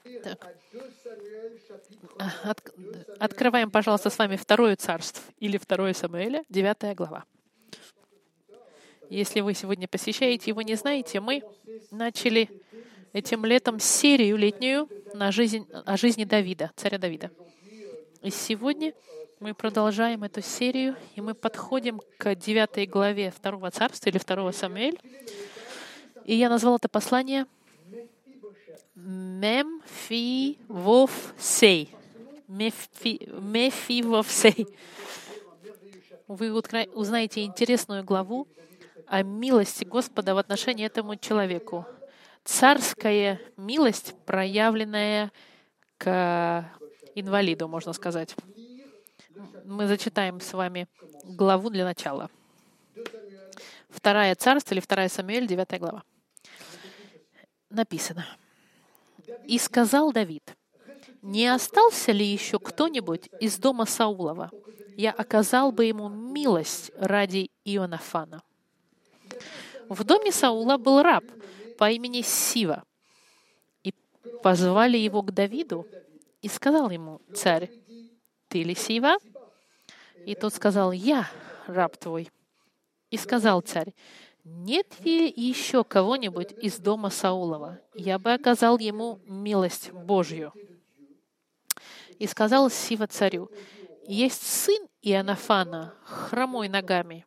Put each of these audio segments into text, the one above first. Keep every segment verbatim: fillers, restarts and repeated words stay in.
Так. От, открываем, пожалуйста, с вами Второе Царство или Второе Самуэля, девятая глава. Если вы сегодня посещаете его, не знаете, мы начали этим летом серию летнюю на жизнь, о жизни Давида, царя Давида. И сегодня мы продолжаем эту серию, и мы подходим к девятой главе Второго Царства или Второго Самуэля. И я назвал это послание Мемфивовсей. Мефивовсей. Вы узнаете интересную главу о милости Господа в отношении этому человеку. Царская милость, проявленная к инвалиду, можно сказать. Мы зачитаем с вами главу для начала. Второе Царство или Второе Самуэль, девятая глава. Написано. «И сказал Давид, не остался ли еще кто-нибудь из дома Саулова? Я оказал бы ему милость ради Ионафана». В доме Саула был раб по имени Сива. И позвали его к Давиду, и сказал ему царь, «Ты ли Сива?» И тот сказал, «Я, раб твой». И сказал царь, «Нет ли еще кого-нибудь из дома Саулова? Я бы оказал ему милость Божью». И сказал Сива царю, «Есть сын Ионафана, хромой ногами».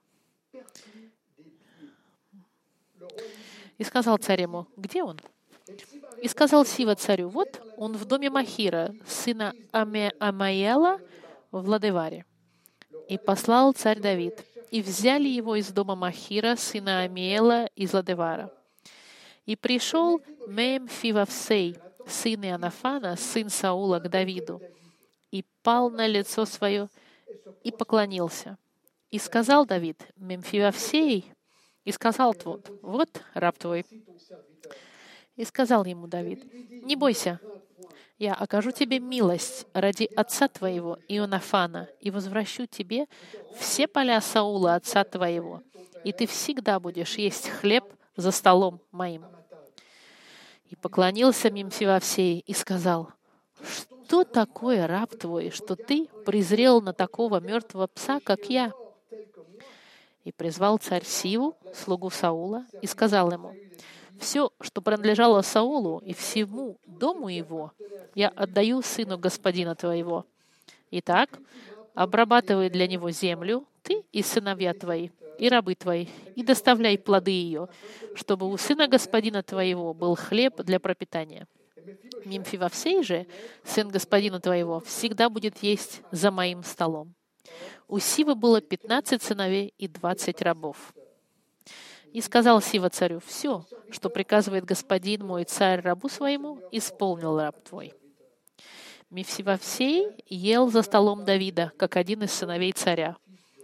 И сказал царь ему, «Где он?» И сказал Сива царю, «Вот он в доме Махира, сына Аме Амаела в Ладеваре». И послал царь Давид, и взяли его из дома Махира, сына Амиэла из Ладевара. И пришел Мемфивовсей, сын Ионафана, сын Саула, к Давиду, и пал на лицо свое, и поклонился. И сказал Давид, Мемфивовсей, и сказал тот, «Вот раб твой». И сказал ему Давид, «Не бойся, я окажу тебе милость ради отца твоего Ионафана и возвращу тебе все поля Саула, отца твоего, и ты всегда будешь есть хлеб за столом моим». И поклонился Мемфивовсей и сказал, «Что такое раб твой, что ты презрел на такого мертвого пса, как я?» И призвал царь Сиву, слугу Саула, и сказал ему, «Все, что принадлежало Саулу и всему дому его, я отдаю сыну господина твоего. Итак, обрабатывай для него землю, ты и сыновья твои, и рабы твои, и доставляй плоды ее, чтобы у сына господина твоего был хлеб для пропитания. Мемфивовсей же, сын господина твоего, всегда будет есть за моим столом». У Сивы было пятнадцать сыновей и двадцать рабов. И сказал Сива царю, «Все, что приказывает господин мой царь рабу своему, исполнил раб твой». Мефивовсей ел за столом Давида, как один из сыновей царя.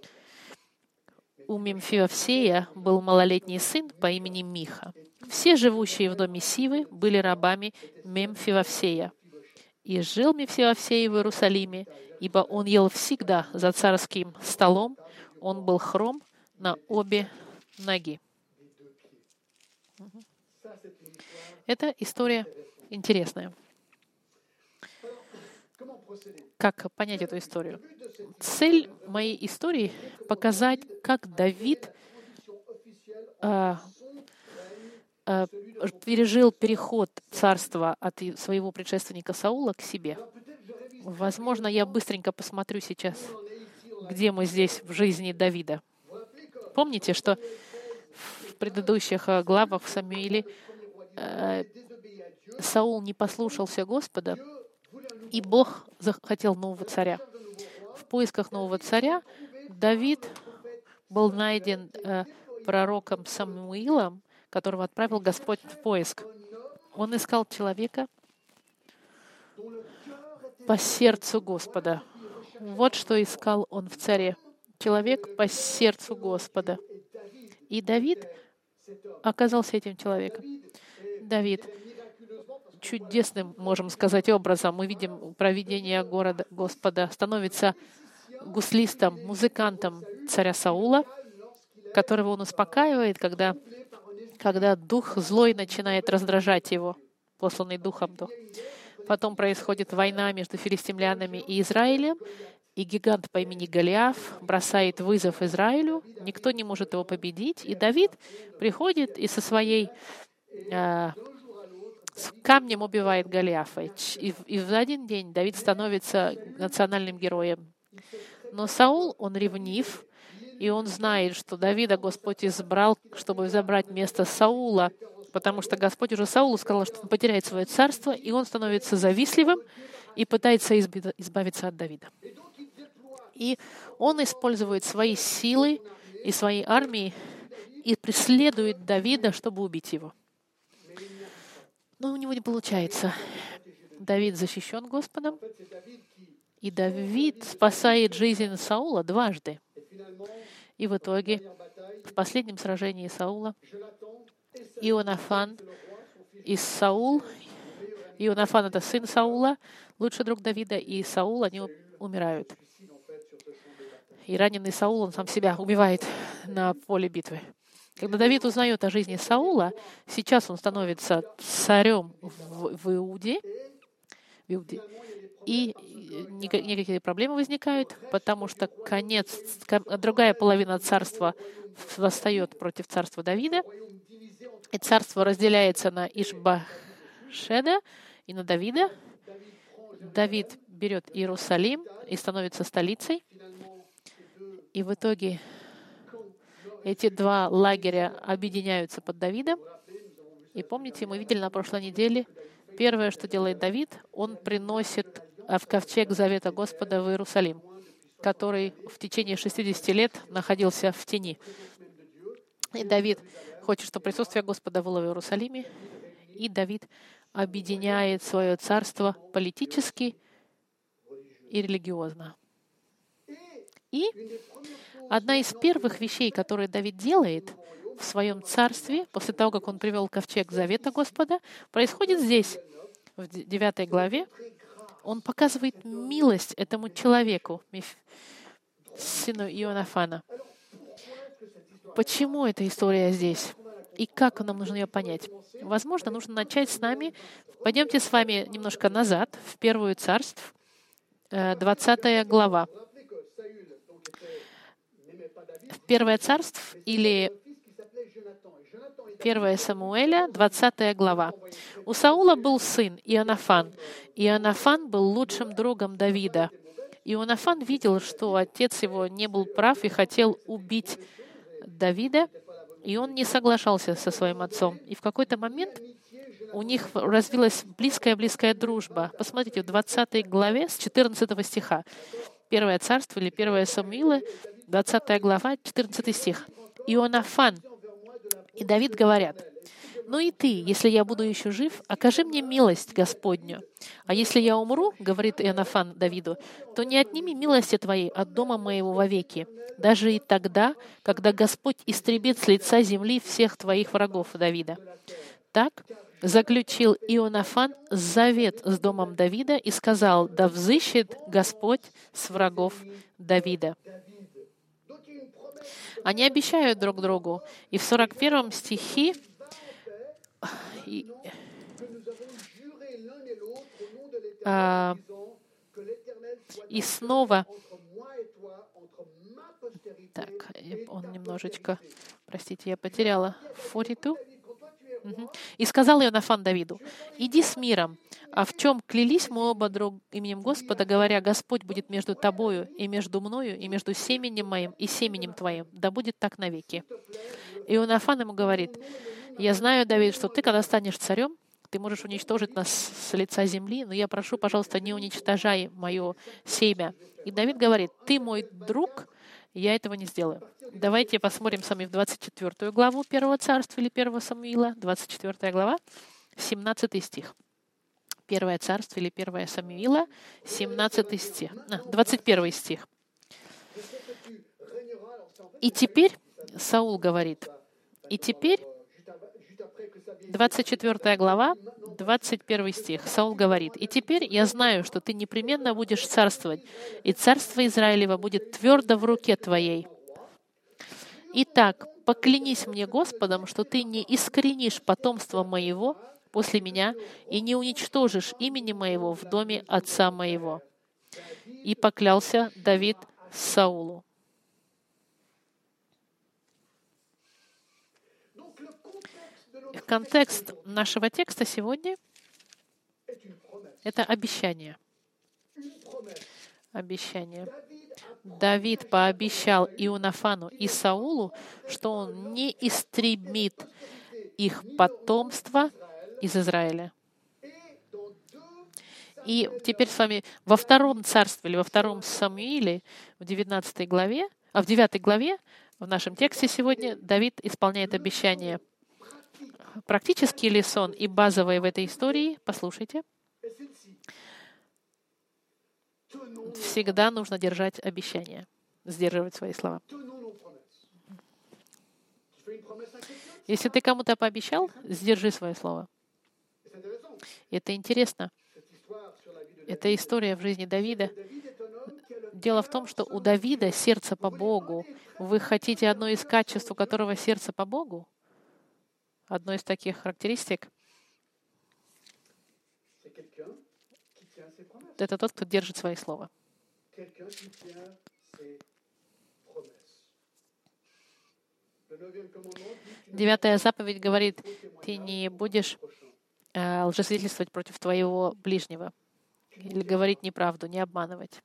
У Мемфивовсея был малолетний сын по имени Миха. Все живущие в доме Сивы были рабами Мемфивовсея. И жил Мефивовсей в Иерусалиме, ибо он ел всегда за царским столом, он был хром на обе ноги. Это история интересная. Как понять эту историю? Цель моей истории — показать, как Давид а, а, пережил переход царства от своего предшественника Саула к себе. Возможно, я быстренько посмотрю сейчас, где мы здесь в жизни Давида. Помните, что в предыдущих главах в Самуиле э, Саул не послушался Господа, и Бог захотел нового царя. В поисках нового царя Давид был найден э, пророком Самуилом, которого отправил Господь в поиск. Он искал человека по сердцу Господа. Вот что искал он в царе. Человек по сердцу Господа. И Давид оказался этим человеком. Давид чудесным, можем сказать, образом, мы видим провидение города Господа, становится гуслистом, музыкантом царя Саула, которого он успокаивает, когда, когда дух злой начинает раздражать его, посланный духом. Потом происходит война между филистимлянами и Израилем, и гигант по имени Голиаф бросает вызов Израилю, никто не может его победить, и Давид приходит и со своей э, с камнем убивает Голиафа. И, и в один день Давид становится национальным героем. Но Саул, он ревнив, и он знает, что Давида Господь избрал, чтобы забрать место Саула, потому что Господь уже Саулу сказал, что он потеряет свое царство, и он становится завистливым и пытается избавиться от Давида. И он использует свои силы и свои армии и преследует Давида, чтобы убить его. Но у него не получается. Давид защищен Господом, и Давид спасает жизнь Саула дважды. И в итоге, в последнем сражении Саула, Ионафан и Саул, Ионафан — это сын Саула, лучший друг Давида, и Саул, они умирают. И раненый Саул, он сам себя убивает на поле битвы. Когда Давид узнает о жизни Саула, сейчас он становится царем в, в Иуде, в Иуде, и никакие проблемы возникают, потому что конец, другая половина царства восстает против царства Давида, и царство разделяется на Ишбашеда и на Давида. Давид берет Иерусалим и становится столицей. И в итоге эти два лагеря объединяются под Давидом. И помните, мы видели на прошлой неделе, первое, что делает Давид, он приносит в ковчег Завета Господа в Иерусалим, который в течение шестидесяти лет находился в тени. И Давид хочет, чтобы присутствие Господа было в Иерусалиме, и Давид объединяет свое царство политически и религиозно. И одна из первых вещей, которые Давид делает в своем царстве, после того, как он привел ковчег Завета Господа, происходит здесь, в девятой главе. Он показывает милость этому человеку, сыну Ионафана. Почему эта история здесь? И как нам нужно ее понять? Возможно, нужно начать с нами. Пойдемте с вами немножко назад, в Первую Царств, двадцатая глава. Первое Царств или Первое Самуэля, двадцатая глава. У Саула был сын Ионафан. Ионафан был лучшим другом Давида. Ионафан видел, что отец его не был прав и хотел убить Давида, и он не соглашался со своим отцом. И в какой-то момент у них развилась близкая-близкая дружба. Посмотрите, в двадцатой главе с четырнадцатого стиха. Первое Царство или Первое Самуила, двадцатая глава, четырнадцатый стих. Ионафан и Давид говорят: «Ну и ты, если я буду еще жив, окажи мне милость Господню. А если я умру, — говорит Ионафан Давиду, — то не отними милости твоей от дома моего вовеки, даже и тогда, когда Господь истребит с лица земли всех твоих врагов, Давида». Так заключил Ионафан завет с домом Давида и сказал: «Да взыщет Господь с врагов Давида». Они обещают друг другу. И в сорок первом стихе и, а, и снова так, он немножечко, простите, я потеряла сорок два. Угу. «И сказал Ионафан Давиду: иди с миром, а в чем клялись мы оба друг именем Господа, говоря: Господь будет между тобою и между мною, и между семенем моим и семенем твоим, да будет так навеки». Ионафан ему говорит: «Я знаю, Давид, что ты, когда станешь царем, ты можешь уничтожить нас с лица земли, но я прошу, пожалуйста, не уничтожай мое семя». И Давид говорит: «Ты мой друг, я этого не сделаю». Давайте посмотрим с вами в двадцать четвёртую главу Первого Царства или Первого Самуила, двадцать четвёртая глава, семнадцатый стих. Первое Царство или Первое Самуила, семнадцатый стих, а, двадцать первый стих. «И теперь, — Саул говорит, — и теперь, двадцать четвёртая глава, двадцать первый стих, Саул говорит: «И теперь я знаю, что ты непременно будешь царствовать, и царство Израилева будет твердо в руке твоей. Итак, поклянись мне Господом, что ты не искоренишь потомства моего после меня, и не уничтожишь имени моего в доме отца моего». И поклялся Давид Саулу. Контекст нашего текста сегодня — это обещание. Обещание. Давид пообещал Ионафану и Саулу, что он не истребит их потомство из Израиля. И теперь с вами во втором царстве или во втором Самуиле, в девятнадцатой главе, а в девятой главе, в нашем тексте сегодня, Давид исполняет обещание. Практический ли сон и базовый в этой истории? Послушайте. Всегда нужно держать обещания, сдерживать свои слова. Если ты кому-то пообещал, сдержи свое слово. Это интересно. Это история в жизни Давида. Дело в том, что у Давида сердце по Богу. Вы хотите одно из качеств, у которого сердце по Богу? Одно из таких характеристик — это тот, кто держит свои слова. Девятая заповедь говорит: ты не будешь э, лжесвидетельствовать против твоего ближнего или говорить неправду, не обманывать.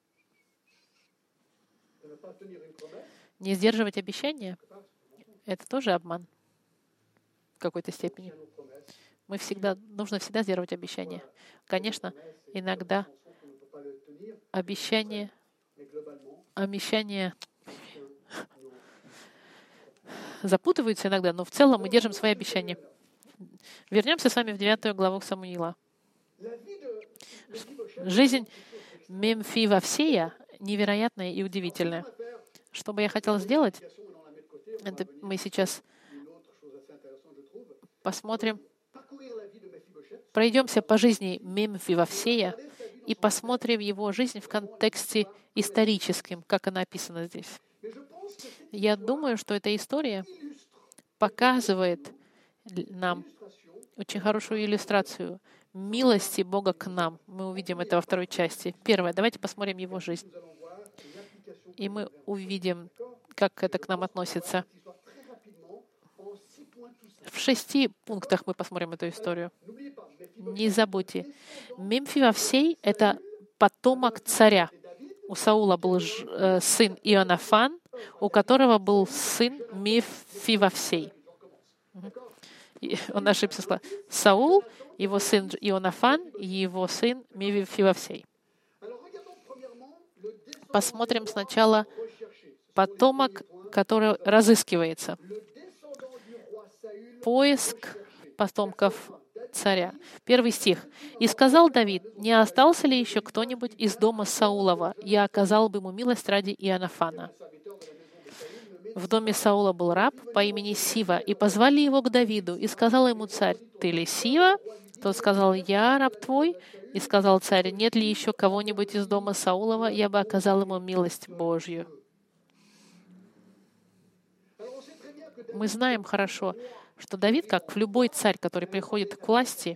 Не сдерживать обещания — это тоже обман в какой-то степени. Мы всегда, нужно всегда сдерживать обещания. Конечно, иногда обещания, обещания запутываются иногда, но в целом мы держим свои обещания. Вернемся с вами в девятую главу Самуила. Жизнь Мемфивовсея невероятная и удивительная. Что бы я хотел сделать, это мы сейчас посмотрим, пройдемся по жизни Мемфивовсея и посмотрим его жизнь в контексте историческом, как она описана здесь. Я думаю, что эта история показывает нам очень хорошую иллюстрацию милости Бога к нам. Мы увидим это во второй части. Первое. Давайте посмотрим его жизнь. И мы увидим, как это к нам относится. В шести пунктах мы посмотрим эту историю. Не забудьте. Мемфивовсей — это потомок царя. У Саула был ж, э, сын Ионафан, у которого был сын Мемфивовсей. И он ошибся. Сказал. Саул, его сын Ионафан, его сын Мемфивовсей. Посмотрим сначала потомок, который разыскивается. Поиск потомков царя. Первый стих. «И сказал Давид: не остался ли еще кто-нибудь из дома Саулова? Я оказал бы ему милость ради Ионафана». В доме Саула был раб по имени Сива, и позвали его к Давиду, и сказал ему царь: «Ты ли Сива?» Тот сказал: «Я раб твой». И сказал царь: «Нет ли еще кого-нибудь из дома Саулова? Я бы оказал ему милость Божью». Мы знаем хорошо, что Давид, как любой царь, который приходит к власти,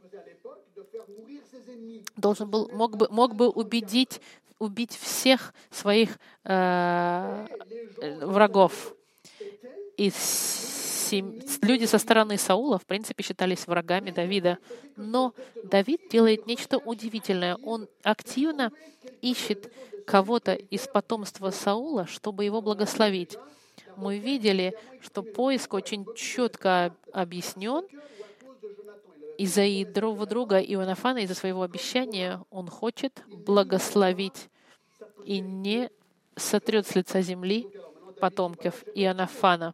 должен был, мог бы, мог бы убедить, убить всех своих э, врагов. И сем... люди со стороны Саула, в принципе, считались врагами Давида. Но Давид делает нечто удивительное. Он активно ищет кого-то из потомства Саула, чтобы его благословить. Мы видели, что поиск очень четко объяснен. Из-за его друга Ионафана, из-за своего обещания, он хочет благословить и не сотрет с лица земли потомков Ионафана.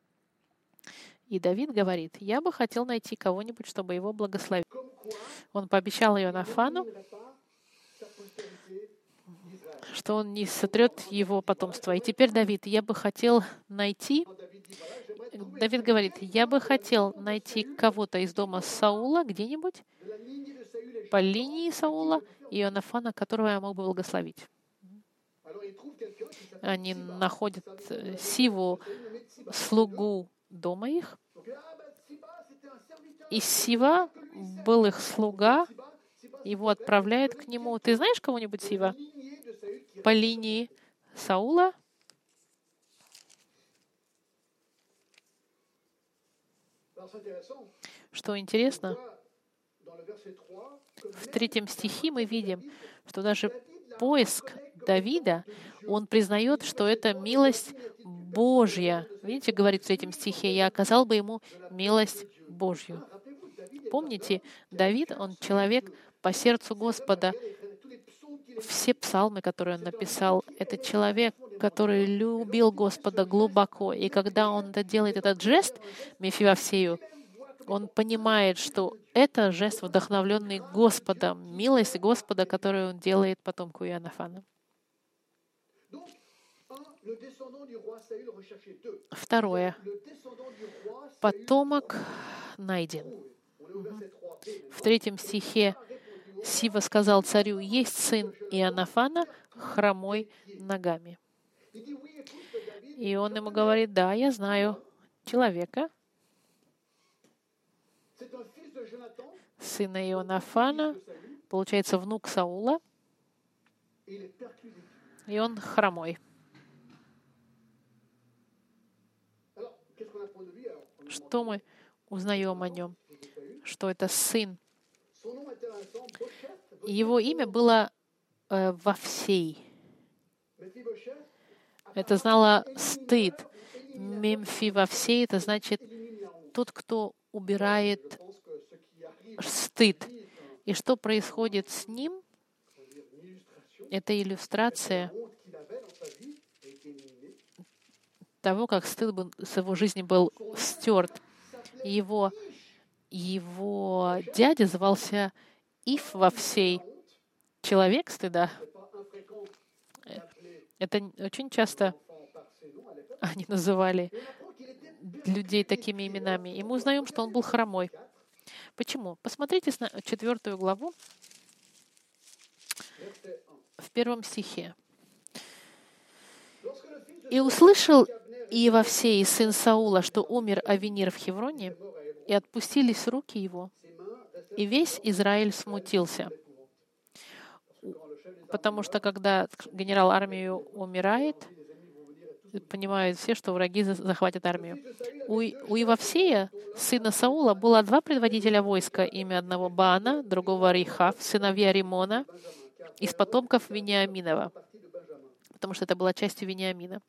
И Давид говорит: я бы хотел найти кого-нибудь, чтобы его благословить. Он пообещал Ионафану, что он не сотрет его потомство. И теперь Давид: я бы хотел найти... Давид говорит: я бы хотел найти кого-то из дома Саула, где-нибудь, по линии Саула, и Ионафана, которого я мог бы благословить. Они находят Сиву, слугу дома их. И Сива был их слуга, его отправляют к нему. Ты знаешь кого-нибудь Сива? По линии Саула? Что интересно, в третьем стихе мы видим, что даже поиск Давида, он признает, что это милость Божья. Видите, говорит в третьем стихе, «Я оказал бы ему милость Божью». Помните, Давид, он человек по сердцу Господа. Все псалмы, которые он написал, это человек, который любил Господа глубоко. И когда он делает этот жест Мефивовсею, он понимает, что это жест, вдохновленный Господом, милость Господа, которую он делает потомку Иоаннафана. Второе. Потомок найден. В третьем стихе Сива сказал царю: «Есть сын Иоаннафана, хромой ногами». И он ему говорит: «Да, я знаю человека, сына Иоаннафана, получается, внук Саула, и он хромой». Что мы узнаем о нем? Что это сын. Его имя было э, Вовсей. Это знало стыд. Мемфивовсей — это значит тот, кто убирает стыд. И что происходит с ним? Это иллюстрация того, как стыд был, с его жизни был стерт. Его, его дядя звался Ив Вовсей, человек стыда. Это очень часто они называли людей такими именами. И мы узнаем, что он был хромой. Почему? Посмотрите на четвертую главу в первом стихе. «И услышал Иововсей, сын Саула, что умер Авенир в Хевроне, и отпустились руки его, и весь Израиль смутился». Потому что когда генерал армии умирает, понимают все, что враги захватят армию. У, у Иововсея, сына Саула, было два предводителя войска, имя одного Баана, другого Рихав, сыновья Римона, из потомков Вениаминова, потому что это была частью Вениамина.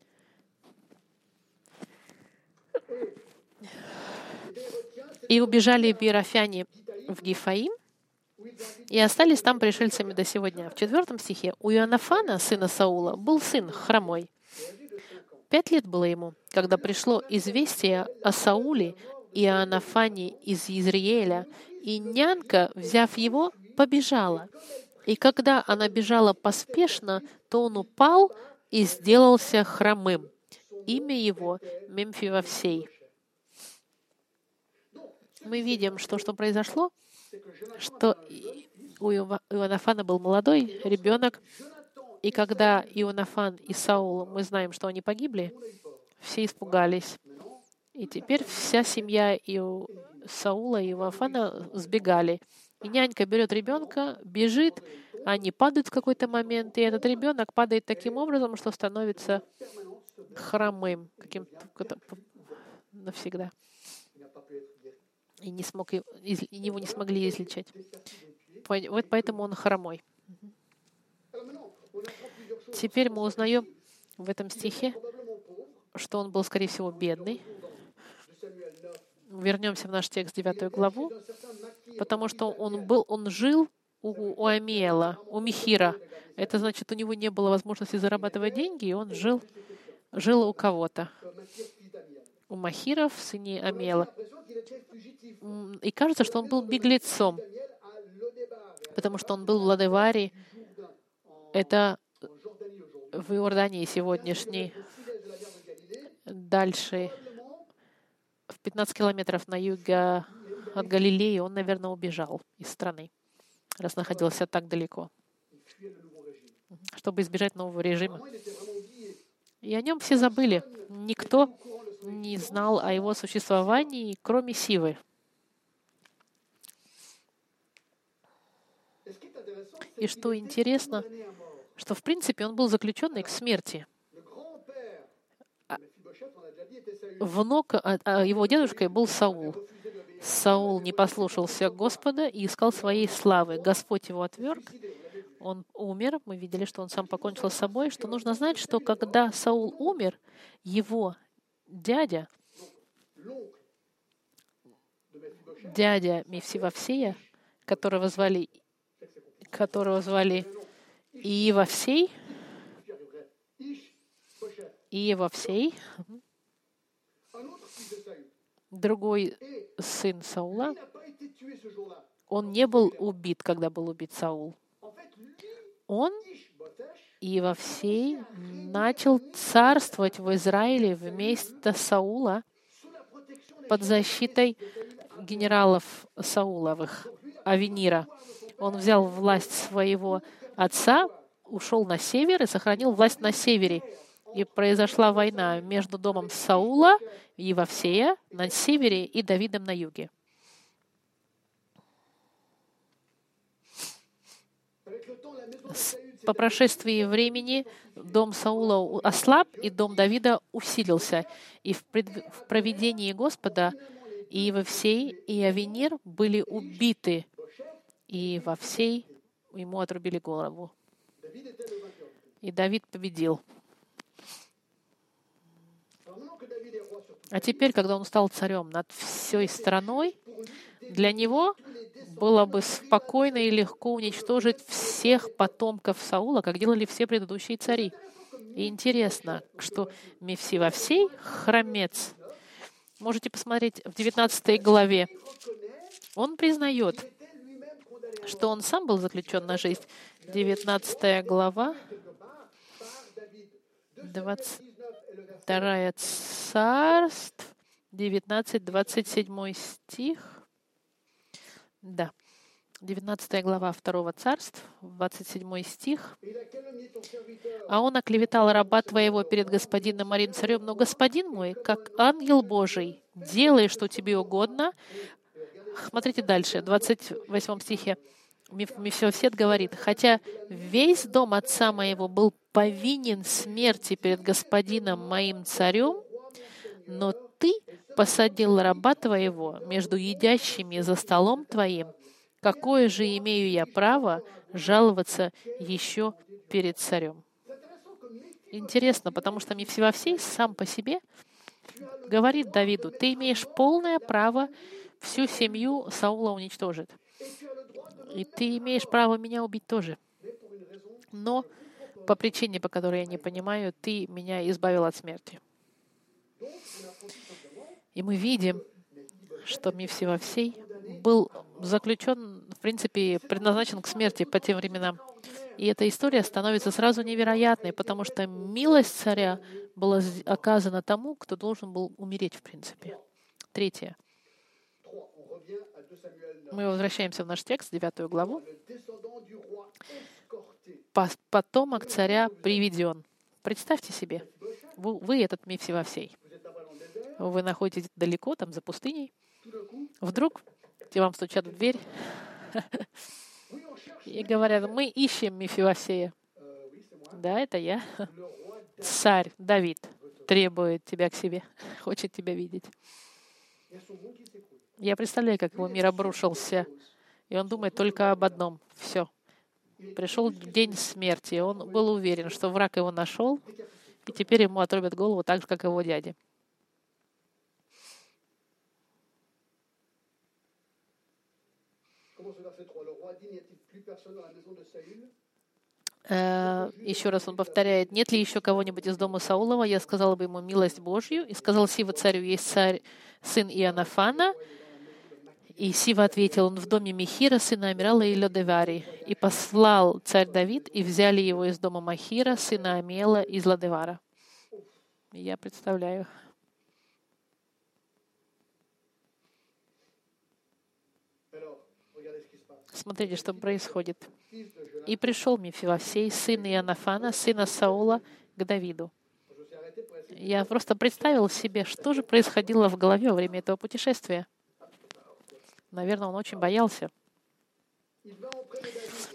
И убежали биерофяне в Гифаим, и остались там пришельцами до сегодня. В четвертом стихе у Иоаннафана, сына Саула, был сын хромой. Пять лет было ему, когда пришло известие о Сауле и Иоаннафане из Израиля, и нянька, взяв его, побежала. И когда она бежала поспешно, то он упал и сделался хромым. Имя его Мемфивовсей. Мы видим, что, что произошло, что у Иоаннафана был молодой ребенок, и когда Иоаннафан и Саул, мы знаем, что они погибли, все испугались. И теперь вся семья и Саула и Иоаннафана сбегали. И нянька берет ребенка, бежит, они падают в какой-то момент, и этот ребенок падает таким образом, что становится хромым каким-то навсегда. И не смог, и его не смогли излечить. Вот поэтому он хромой. Теперь мы узнаем в этом стихе, что он был, скорее всего, бедный. Вернемся в наш текст, девятую главу, потому что он был, он жил у, у Амиэла, у Михира. Это значит, у него не было возможности зарабатывать деньги, и он жил, жил у кого-то. У Махиров, сыне Амиэла. И кажется, что он был беглецом, потому что он был в Лодеваре. Это в Иордании сегодняшней. Дальше, в пятнадцать километров на юге от Галилеи, он, наверное, убежал из страны, раз находился так далеко, чтобы избежать нового режима. И о нем все забыли. Никто не знал о его существовании, кроме Сивы. И что интересно, что в принципе он был заключенный к смерти. Внук, а, а его дедушкой был Саул. Саул не послушался Господа и искал своей славы. Господь его отверг, он умер. Мы видели, что он сам покончил с собой. Что нужно знать, что когда Саул умер, его дядя, дядя Мефсивофсея, которого звали, которого звали Иевовсей, Иевовсей, другой сын Саула, он не был убит, когда был убит Саул. Он, Иевовсей, начал царствовать в Израиле вместо Саула под защитой генералов Сауловых, Авенира. Он взял власть своего отца, ушел на север и сохранил власть на севере. И произошла война между домом Саула, Иевовсея, на севере и Давидом на юге. По прошествии времени дом Саула ослаб, и дом Давида усилился. И в, пред... в провидении Господа и Иевовсей, и Авенир были убиты, и Иевовсей ему отрубили голову. И Давид победил. А теперь, когда он стал царем над всей страной, для него было бы спокойно и легко уничтожить всех потомков Саула, как делали все предыдущие цари. И интересно, что Мефсивофсей, хромец, можете посмотреть в девятнадцатой главе, он признает, что он сам был заключен на жизнь. девятнадцатая глава, двадцать вторая Царств, девятнадцать двадцать семь стих. Да. девятнадцатая глава второго Царств, двадцать седьмой стих. «А он оклеветал раба твоего перед господином моим царем, но господин мой, как ангел Божий, делай, что тебе угодно». Смотрите дальше, в двадцать восьмом стихе. Мефисбофет говорит: «Хотя весь дом отца моего был повинен смерти перед господином моим царем, но ты посадил раба твоего между едящими за столом твоим. Какое же имею я право жаловаться еще перед царем?» Интересно, потому что Мефисбофет сам по себе говорит Давиду: «Ты имеешь полное право всю семью Саула уничтожить. И ты имеешь право меня убить тоже. Но по причине, по которой я не понимаю, ты меня избавил от смерти». И мы видим, что Мефисбофет был заключен, в принципе, предназначен к смерти по тем временам. И эта история становится сразу невероятной, потому что милость царя была оказана тому, кто должен был умереть, в принципе. Третье. Мы возвращаемся в наш текст, девятую главу. «Потомок царя приведен». Представьте себе, вы, вы этот Мефисбофет. Вы находитесь далеко, там, за пустыней. Вдруг тебе вам стучат в дверь и говорят: «Мы ищем Мефисбофея». Да, это я. Царь Давид требует тебя к себе, хочет тебя видеть. Я представляю, как его мир обрушился, и он думает только об одном. Все. Пришел день смерти. Он был уверен, что враг его нашел, и теперь ему отрубят голову так же, как его дяде. Еще раз он повторяет: «Нет ли еще кого-нибудь из дома Саулова? Я сказала бы ему милость Божью». И сказал Сива царю: «Есть царь, сын Иоаннафана». И Сива ответил: «Он в доме Михира, сына Амирала и Лодевари». И послал царь Давид, и взяли его из дома Махира, сына Амиэла, из Лодевара. Я представляю. Смотрите, что происходит. «И пришел Мефисбофет, сын Иоаннафана, сына Саула, к Давиду». Я просто представил себе, что же происходило в голове во время этого путешествия. Наверное, он очень боялся.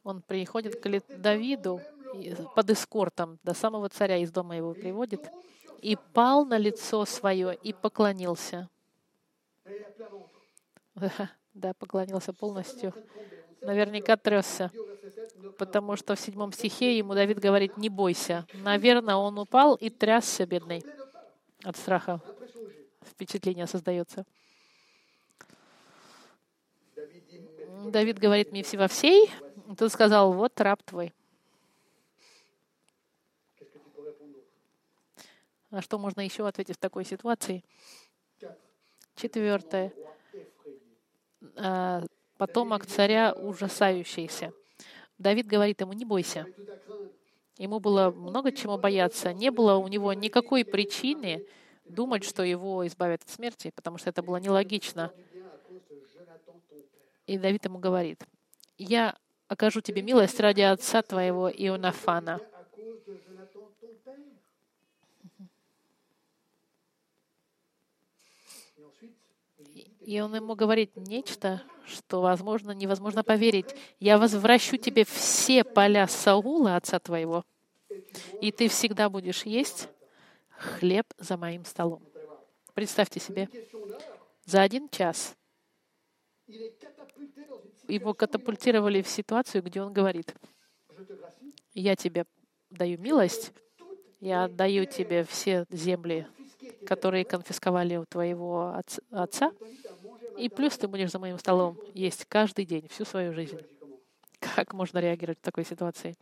Он приходит к Ли- Давиду и под эскортом до самого царя из дома его приводит, и пал на лицо свое и поклонился. Да, поклонился полностью. Наверняка трясся, потому что в седьмом стихе ему Давид говорит: «Не бойся». Наверное, он упал и трясся, бедный, от страха. Впечатление создается. Давид говорит: «Мефсивофсей». Тут сказал: «Вот раб твой». А что можно еще ответить в такой ситуации? Четвертое. А, Потомок царя ужасающийся. Давид говорит ему: «Не бойся». Ему было много чему бояться. Не было у него никакой причины думать, что его избавят от смерти, потому что это было нелогично. И Давид ему говорит: «Я окажу тебе милость ради отца твоего Ионафана». И он ему говорит нечто, что, возможно, невозможно поверить. «Я возвращу тебе все поля Саула, отца твоего, и ты всегда будешь есть хлеб за моим столом». Представьте себе, за один час его катапультировали в ситуацию, где он говорит: «Я тебе даю милость, я отдаю тебе все земли, которые конфисковали у твоего отца, и плюс ты будешь за моим столом есть каждый день, всю свою жизнь». Как можно реагировать в такой ситуации?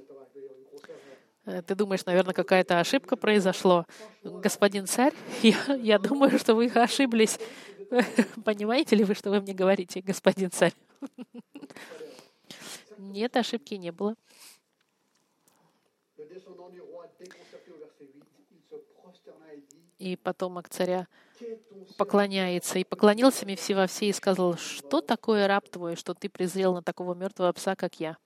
Ты думаешь, наверное, какая-то ошибка произошла. Господин царь, я, я думаю, что вы ошиблись. Понимаете ли вы, что вы мне говорите, господин царь? Нет, ошибки не было. И потомок царя поклоняется. И поклонился Мефсивофсей и сказал: «Что такое раб твой, что ты презрел на такого мертвого пса, как я?»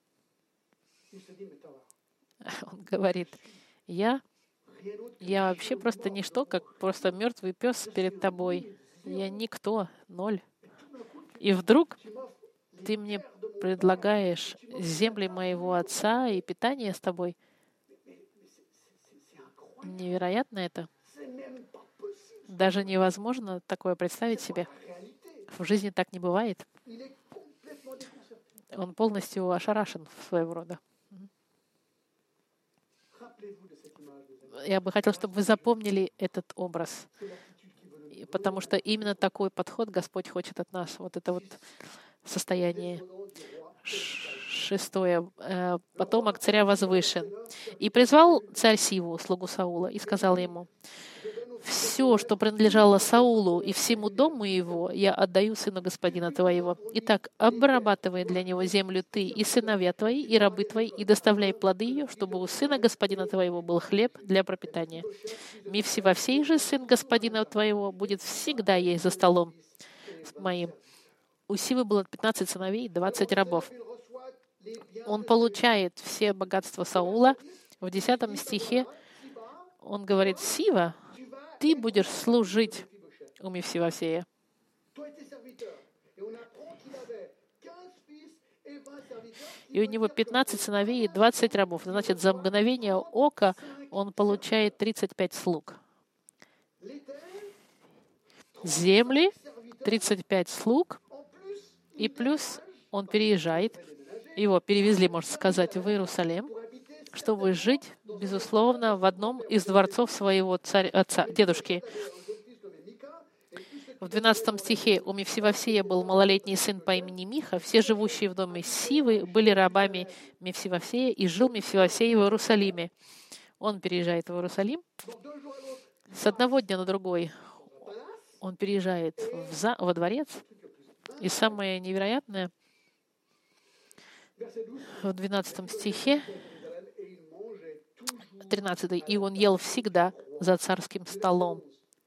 Он говорит: «Я, я вообще просто ничто, как просто мертвый пес перед тобой. Я никто, ноль. И вдруг ты мне предлагаешь земли моего отца и питание с тобой». Невероятно это. Даже невозможно такое представить себе. В жизни так не бывает. Он полностью ошарашен своего рода. Я бы хотел, чтобы вы запомнили этот образ, потому что именно такой подход Господь хочет от нас. Вот это вот состояние. Шестое. Потомок царя возвышен. «И призвал царь Сиву, слугу Саула, и сказал ему: все, что принадлежало Саулу и всему дому его, я отдаю сыну господина твоего. Итак, обрабатывай для него землю ты и сыновья твои, и рабы твои, и доставляй плоды ее, чтобы у сына господина твоего был хлеб для пропитания. Мефсивофсей же, сын господина твоего, будет всегда есть за столом моим». У Сивы было пятнадцать сыновей и двадцать рабов. Он получает все богатства Саула. В десятом стихе он говорит: «Сива, ты будешь служить у Мефсивофсея». И у него пятнадцать сыновей и двадцать рабов. Значит, за мгновение ока он получает тридцать пять слуг. Земли, тридцать пять слуг, и плюс он переезжает. Его перевезли, можно сказать, в Иерусалим, чтобы жить, безусловно, в одном из дворцов своего царя, отца, дедушки. В двенадцатом стихе у Мефсивофсея был малолетний сын по имени Миха. Все живущие в доме Сивы были рабами Мефсивофсея, и жил Мефсивофсей в Иерусалиме. Он переезжает в Иерусалим. С одного дня на другой он переезжает в за, во дворец. И самое невероятное, в двенадцатом стихе, тринадцатый, «И он ел всегда за царским столом».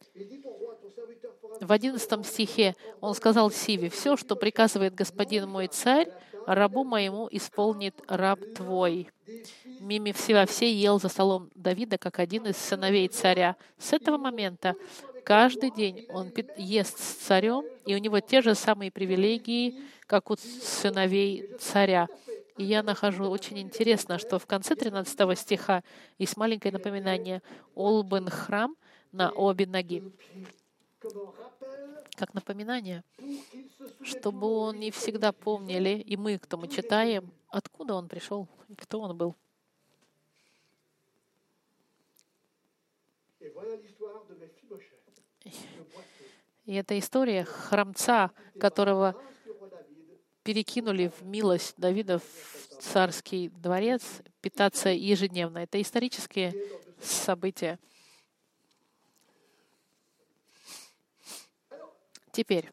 В одиннадцатом стихе он сказал Сиве: «Все, что приказывает господин мой царь, рабу моему исполнит раб твой». Мефсивофсей ел за столом Давида как один из сыновей царя. С этого момента каждый день он ест с царем, и у него те же самые привилегии, как у сыновей царя. И я нахожу очень интересно, что в конце тринадцатого стиха есть маленькое напоминание «Олбен храм на обе ноги». Как напоминание, чтобы они всегда помнили, и мы, кто мы читаем, откуда он пришел и кто он был. И это история храмца, которого перекинули в милость Давида в царский дворец, питаться ежедневно. Это исторические события. Теперь,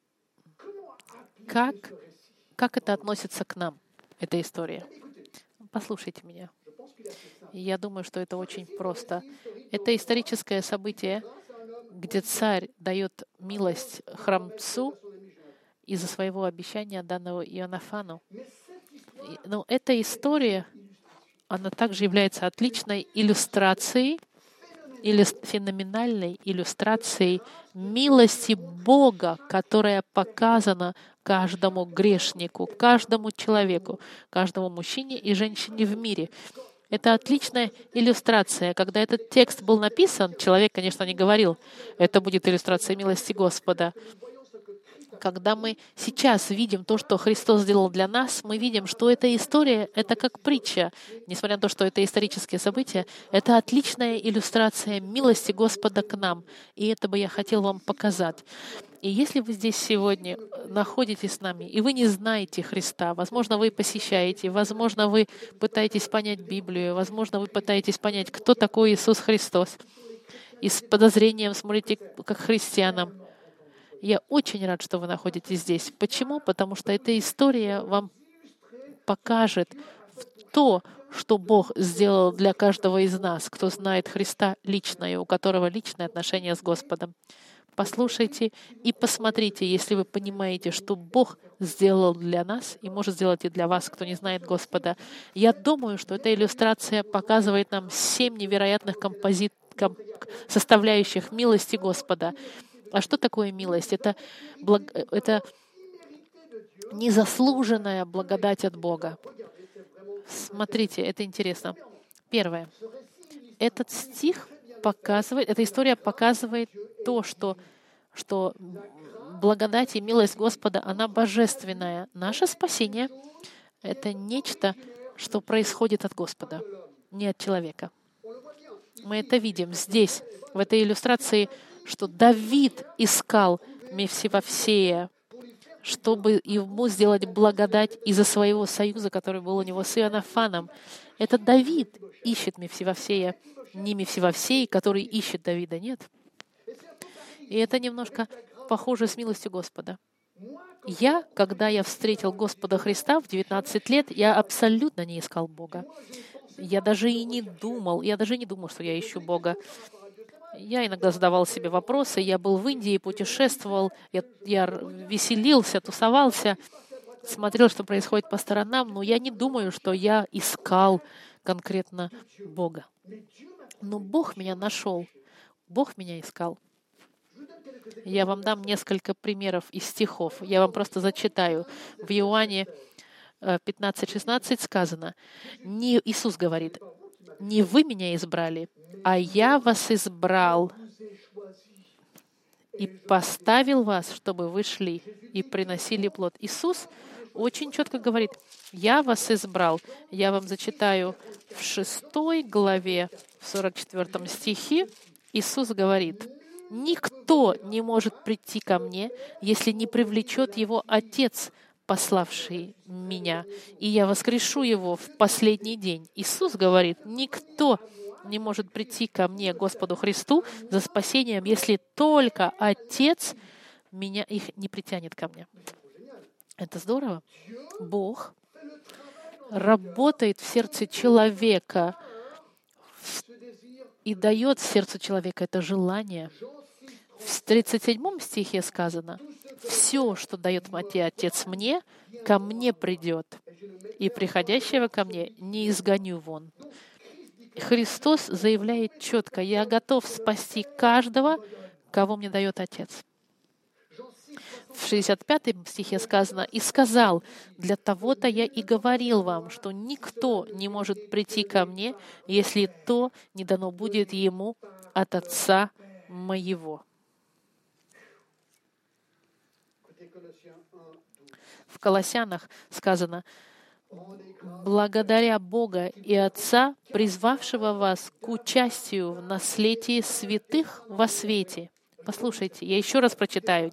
как, как это относится к нам, эта история? Послушайте меня. Я думаю, что это очень просто. Это историческое событие, где царь дает милость храмцу из-за своего обещания, данного Иоаннафану. Но эта история, она также является отличной иллюстрацией, или феноменальной иллюстрацией милости Бога, которая показана каждому грешнику, каждому человеку, каждому мужчине и женщине в мире. Это отличная иллюстрация. Когда этот текст был написан, человек, конечно, не говорил, это будет иллюстрация милости Господа. Когда мы сейчас видим то, что Христос сделал для нас, мы видим, что эта история — это как притча. Несмотря на то, что это исторические события, это отличная иллюстрация милости Господа к нам. И это бы я хотел вам показать. И если вы здесь сегодня находитесь с нами, и вы не знаете Христа, возможно, вы посещаете, возможно, вы пытаетесь понять Библию, возможно, вы пытаетесь понять, кто такой Иисус Христос, и с подозрением смотрите как христианам, я очень рад, что вы находитесь здесь. Почему? Потому что эта история вам покажет то, что Бог сделал для каждого из нас, кто знает Христа лично и у которого личное отношение с Господом. Послушайте и посмотрите, если вы понимаете, что Бог сделал для нас и может сделать и для вас, кто не знает Господа. Я думаю, что эта иллюстрация показывает нам семь невероятных композит... комп... составляющих милости Господа. А что такое милость? Это, благ... это незаслуженная благодать от Бога. Смотрите, это интересно. Первое. Этот стих показывает, эта история показывает то, что, что благодать и милость Господа, она божественная. Наше спасение — это нечто, что происходит от Господа, не от человека. Мы это видим здесь, в этой иллюстрации, что Давид искал Мефсибофея, чтобы ему сделать благодать из-за своего союза, который был у него с Иоаннафаном. Это Давид ищет Мефсибофея, не Мефсибофей, который ищет Давида, нет. И это немножко похоже с милостью Господа. Я, когда я встретил Господа Христа в девятнадцать лет, я абсолютно не искал Бога. Я даже и не думал, я даже не думал, что я ищу Бога. Я иногда задавал себе вопросы. Я был в Индии, путешествовал, я, я веселился, тусовался, смотрел, что происходит по сторонам, но я не думаю, что я искал конкретно Бога. Но Бог меня нашел. Бог меня искал. Я вам дам несколько примеров из стихов. Я вам просто зачитаю. В Иоанне пятнадцать шестнадцать сказано, не, Иисус говорит, «Не вы меня избрали, а я вас избрал и поставил вас, чтобы вы шли и приносили плод». Иисус очень четко говорит, «Я вас избрал». Я вам зачитаю в шестой главе, в сорок четвёртом стихе, Иисус говорит, «Никто не может прийти ко мне, если не привлечет его Отец, пославший меня, и я воскрешу его в последний день». Иисус говорит, никто не может прийти ко мне, Господу Христу, за спасением, если только Отец меня их не притянет ко мне. Это здорово. Бог работает в сердце человека и дает сердцу человека это желание. В тридцать седьмом стихе сказано, «Все, что дает Отец мне, ко мне придет, и приходящего ко мне не изгоню вон». Христос заявляет четко, «Я готов спасти каждого, кого мне дает Отец». В шестьдесят пятом стихе сказано: «И сказал, для того-то я и говорил вам, что никто не может прийти ко мне, если то не дано будет ему от Отца моего». В Колоссянах сказано: «Благодаря Бога и Отца, призвавшего вас к участию в наследии святых во свете». Послушайте, я еще раз прочитаю.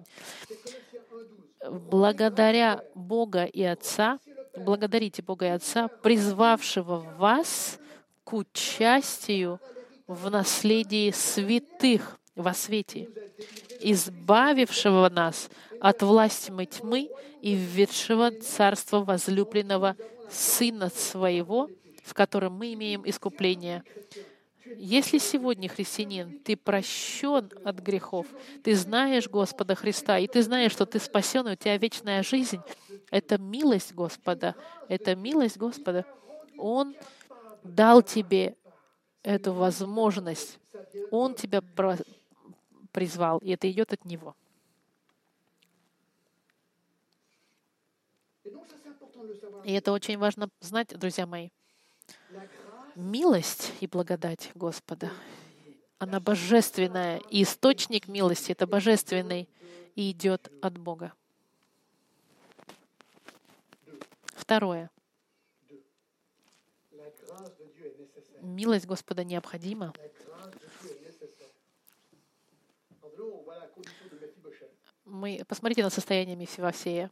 «Благодаря Бога и Отца, благодарите Бога и Отца, призвавшего вас к участию в наследии святых во свете, избавившего нас от власти тьмы и введшего царство возлюбленного Сына Своего, в котором мы имеем искупление». Если сегодня, христианин, ты прощен от грехов, ты знаешь Господа Христа, и ты знаешь, что ты спасен, и у тебя вечная жизнь, это милость Господа, это милость Господа. Он дал тебе эту возможность, Он тебя призвал, и это идет от Него. И это очень важно знать, друзья мои. Милость и благодать Господа, она божественная, и источник милости — это божественный, и идет от Бога. Второе. Милость Господа необходима. Мы, посмотрите на состояние Мефибосея.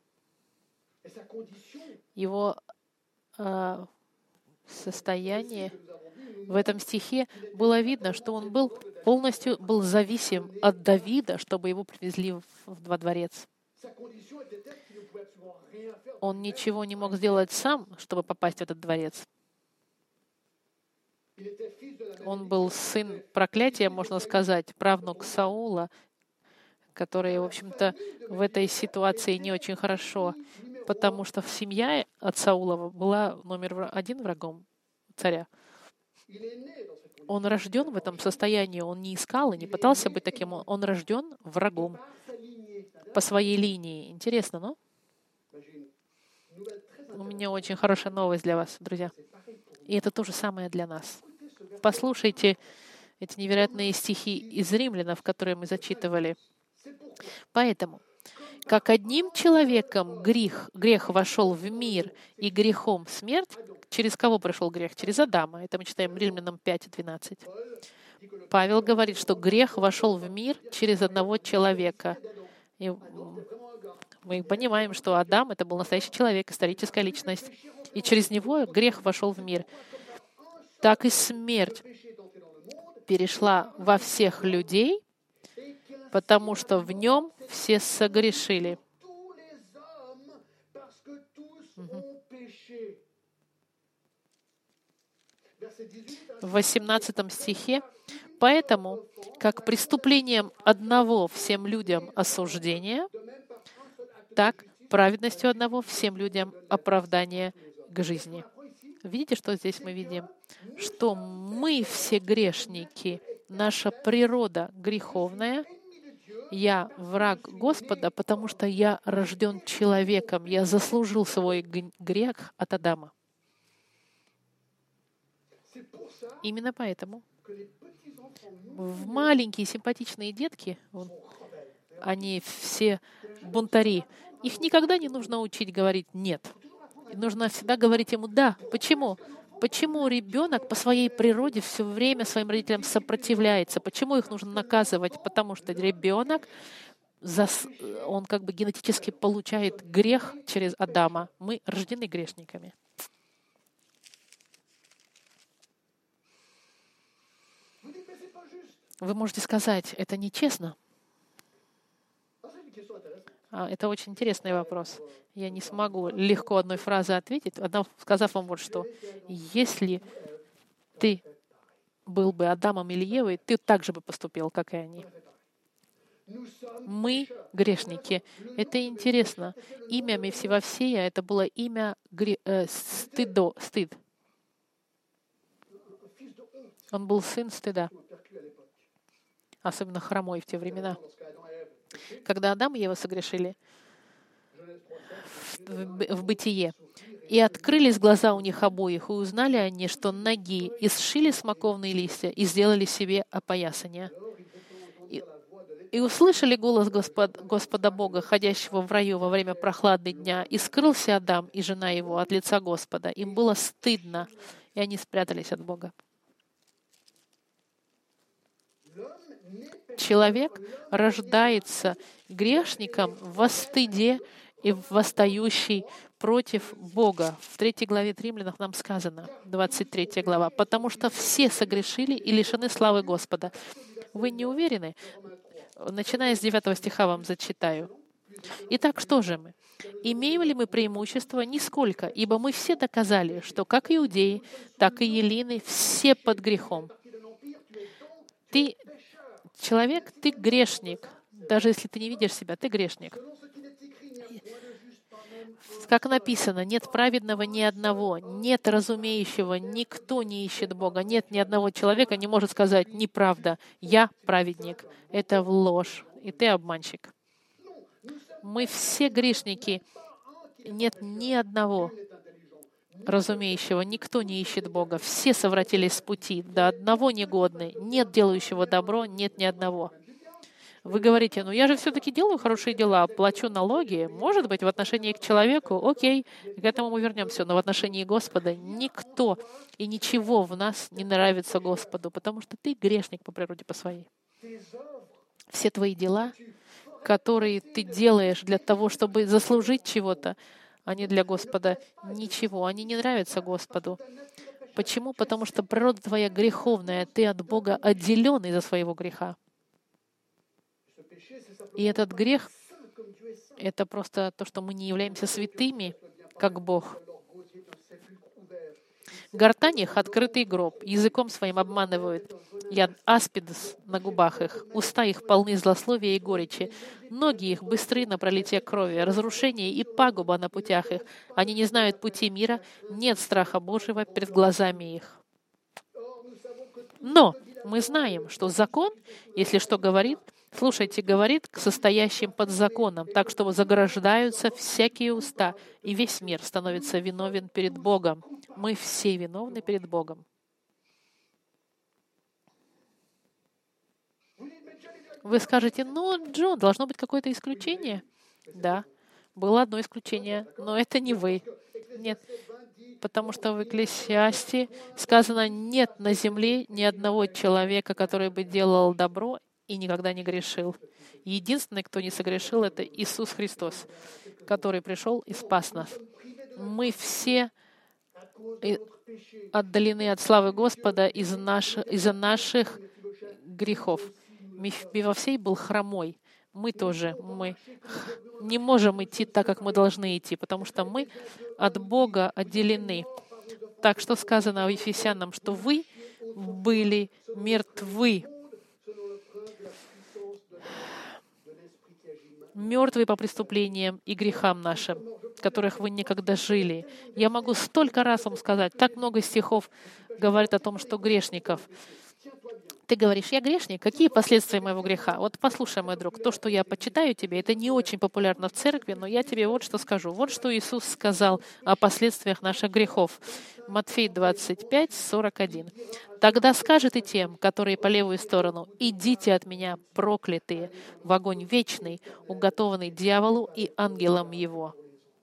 Его э, состояние в этом стихе было видно, что он был полностью был зависим от Давида, чтобы его привезли в, во дворец. Он ничего не мог сделать сам, чтобы попасть в этот дворец. Он был сын проклятия, можно сказать, правнук Саула, который, в общем-то, в этой ситуации не очень хорошо, потому что семья от Саулова была номер один врагом царя. Он рожден в этом состоянии, он не искал и не пытался быть таким, он рожден врагом по своей линии. Интересно, но? У меня очень хорошая новость для вас, друзья. И это то же самое для нас. Послушайте эти невероятные стихи из Римлянов, которые мы зачитывали. Поэтому, как одним человеком грех, грех вошел в мир, и грехом смерть, через кого пришел грех? Через Адама. Это мы читаем Римлянам пять двенадцать. Павел говорит, что грех вошел в мир через одного человека. И мы понимаем, что Адам — это был настоящий человек, историческая личность. И через него грех вошел в мир. Так и смерть перешла во всех людей, потому что в нем все согрешили. Угу. В восемнадцатом стихе: «Поэтому, как преступлением одного всем людям осуждение, так праведностью одного всем людям оправдание к жизни». Видите, что здесь мы видим? Что мы все грешники, наша природа греховная. Я враг Господа, потому что я рожден человеком, я заслужил свой грех от Адама. Именно поэтому в маленькие симпатичные детки, они все бунтари, их никогда не нужно учить говорить «нет». Нужно всегда говорить ему «да». Почему? Почему ребенок по своей природе все время своим родителям сопротивляется? Почему их нужно наказывать? Потому что ребенок, он как бы генетически получает грех через Адама. Мы рождены грешниками. Вы можете сказать, это нечестно. Это очень интересный вопрос. Я не смогу легко одной фразой ответить, сказав вам вот что. Если ты был бы Адамом или Евой, ты так же бы поступил, как и они. Мы грешники. Это интересно. Имя Мефибосея — это было имя гре... э, стыдо, стыд. Он был сын стыда. Особенно хромой в те времена. Когда Адам и Ева согрешили, в, в Бытие. «И открылись глаза у них обоих, и узнали они, что ноги, и сшили смоковные листья, и сделали себе опоясание. И, и услышали голос Господ, Господа Бога, ходящего в раю во время прохлады дня, и скрылся Адам и жена его от лица Господа. Им было стыдно, и они спрятались от Бога». Человек рождается грешником во стыде и восстающий против Бога. В третьей главе Римлянам нам сказано, двадцать третья глава, «Потому что все согрешили и лишены славы Господа». Вы не уверены? Начиная с девятого стиха вам зачитаю. «Итак, что же мы? Имеем ли мы преимущество? Нисколько, ибо мы все доказали, что как иудеи, так и еллины все под грехом». Ты человек, ты грешник. Даже если ты не видишь себя, ты грешник. Как написано, нет праведного ни одного, нет разумеющего, никто не ищет Бога, нет ни одного человека не может сказать «неправда, я праведник». Это ложь, и ты обманщик. Мы все грешники, нет ни одного разумеющего, никто не ищет Бога. Все совратились с пути, до одного негодны, нет делающего добро, нет ни одного. Вы говорите, ну я же все-таки делаю хорошие дела, плачу налоги. Может быть, в отношении к человеку, окей, к этому мы вернемся. Но в отношении Господа никто и ничего в нас не нравится Господу, потому что ты грешник по природе по своей. Все твои дела, которые ты делаешь для того, чтобы заслужить чего-то, они для Господа ничего, они не нравятся Господу. Почему? Потому что природа твоя греховная, ты от Бога отделен из-за своего греха. И этот грех — это просто то, что мы не являемся святыми, как Бог. Гортань их — открытый гроб, языком своим обманывают. Яд аспидс на губах их, уста их полны злословия и горечи, ноги их быстры на пролитие крови, разрушение и пагуба на путях их. Они не знают пути мира, нет страха Божьего перед глазами их. Но мы знаем, что закон, если что говорит, слушайте, говорит к состоящим под законом, так что заграждаются всякие уста, и весь мир становится виновен перед Богом. Мы все виновны перед Богом. Вы скажете, ну, Джон, должно быть какое-то исключение. Да, было одно исключение, но это не вы. Нет, потому что в Экклесиасте сказано, нет на земле ни одного человека, который бы делал добро и никогда не грешил. Единственный, кто не согрешил, это Иисус Христос, который пришел и спас нас. Мы все отдалены от славы Господа из наш, из-за наших грехов. Мефибофей был хромой. Мы тоже. Мы не можем идти так, как мы должны идти, потому что мы от Бога отделены. Так что сказано в Ефесянам, что вы были мертвы. Мертвые по преступлениям и грехам нашим, в которых вы никогда жили. Я могу столько раз вам сказать, так много стихов говорит о том, что грешников. Ты говоришь, я грешник, какие последствия моего греха? Вот послушай, мой друг, то, что я почитаю тебе, это не очень популярно в церкви, но я тебе вот что скажу. Вот что Иисус сказал о последствиях наших грехов. Матфей двадцать пять, сорок один. «Тогда скажет и тем, которые по левую сторону, идите от меня, проклятые, в огонь вечный, уготованный дьяволу и ангелам его».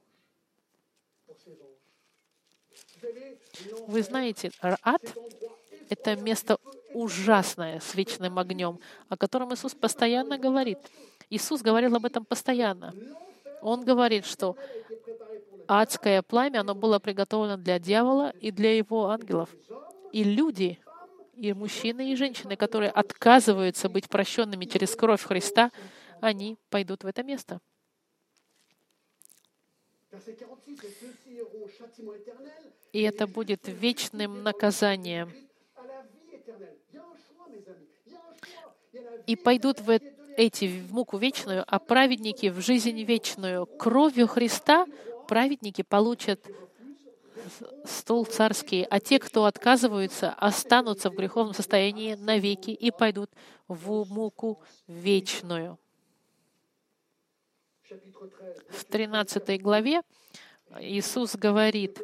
Вы знаете, ад — это место ужасное, с вечным огнем, о котором Иисус постоянно говорит. Иисус говорил об этом постоянно. Он говорит, что адское пламя, оно было приготовлено для дьявола и для его ангелов. И люди, и мужчины, и женщины, которые отказываются быть прощенными через кровь Христа, они пойдут в это место. И это будет вечным наказанием. И пойдут в эти в муку вечную, а праведники в жизнь вечную. Кровью Христа праведники получат стол царский, а те, кто отказываются, останутся в греховном состоянии навеки и пойдут в муку вечную. В тринадцатой главе Иисус говорит: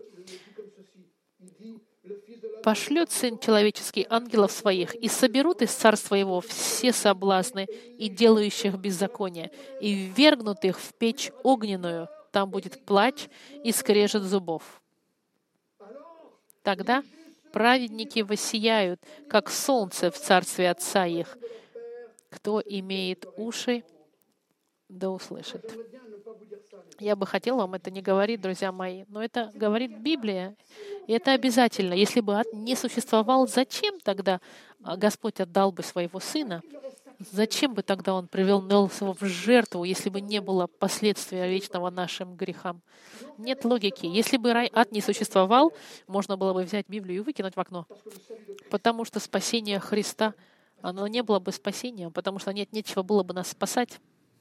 «Пошлет Сын Человеческий ангелов Своих, и соберут из Царства Его все соблазны и делающих беззаконие, и ввергнут их в печь огненную. Там будет плач и скрежет зубов. Тогда праведники воссияют, как солнце в Царстве Отца их. Кто имеет уши, да услышит». Я бы хотела вам это не говорить, друзья мои, но это говорит Библия, и это обязательно. Если бы ад не существовал, зачем тогда Господь отдал бы своего Сына? Зачем бы тогда Он привел его в жертву, если бы не было последствия вечного нашим грехам? Нет логики. Если бы рай, ад не существовал, можно было бы взять Библию и выкинуть в окно. Потому что спасение Христа, оно не было бы спасением, потому что нет нечего было бы нас спасать.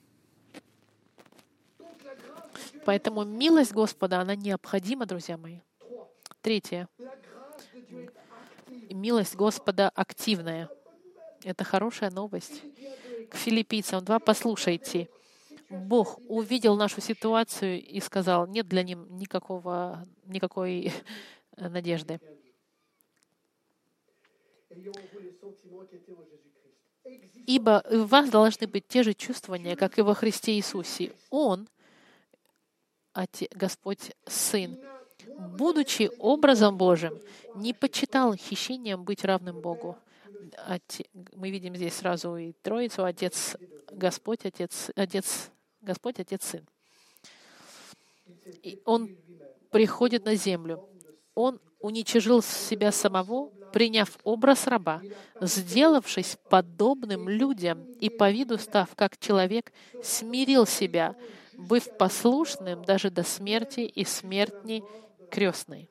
Поэтому милость Господа, она необходима, друзья мои. Третье. Милость Господа активная. Это хорошая новость. К Филиппийцам два послушайте. Бог увидел нашу ситуацию и сказал, нет для них никакого, никакой надежды. Ибо в вас должны быть те же чувствования, как и во Христе Иисусе. Он, Отец, Господь Сын, будучи образом Божьим, не почитал хищением быть равным Богу. Отец, мы видим здесь сразу и Троицу, Отец, Господь, Отец, Отец, Господь, Отец, Сын. И Он приходит на землю. Он уничижил себя самого, приняв образ раба, сделавшись подобным людям и по виду став как человек, смирил себя, быв послушным даже до смерти и смерти крестной.